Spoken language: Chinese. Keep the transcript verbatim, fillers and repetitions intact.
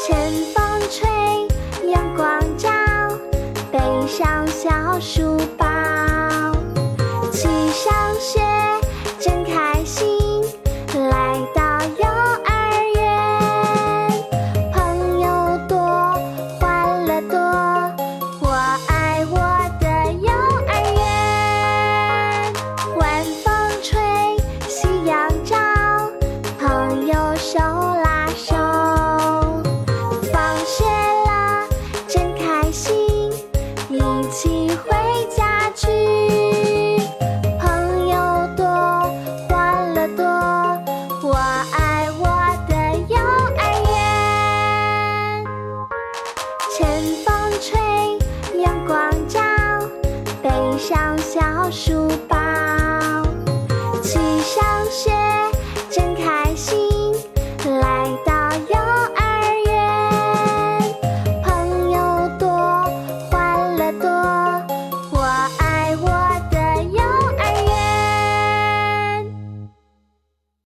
前风吹，阳光照，背上小书包。起上学，真开心，来到幼儿园。朋友多，欢乐多，我爱我的幼儿园。晚风吹，夕阳照，朋友手拉手。放学了，真开心，一起回家去。朋友多，欢乐多，我爱我的幼儿园。前风吹，阳光照，背上小书包。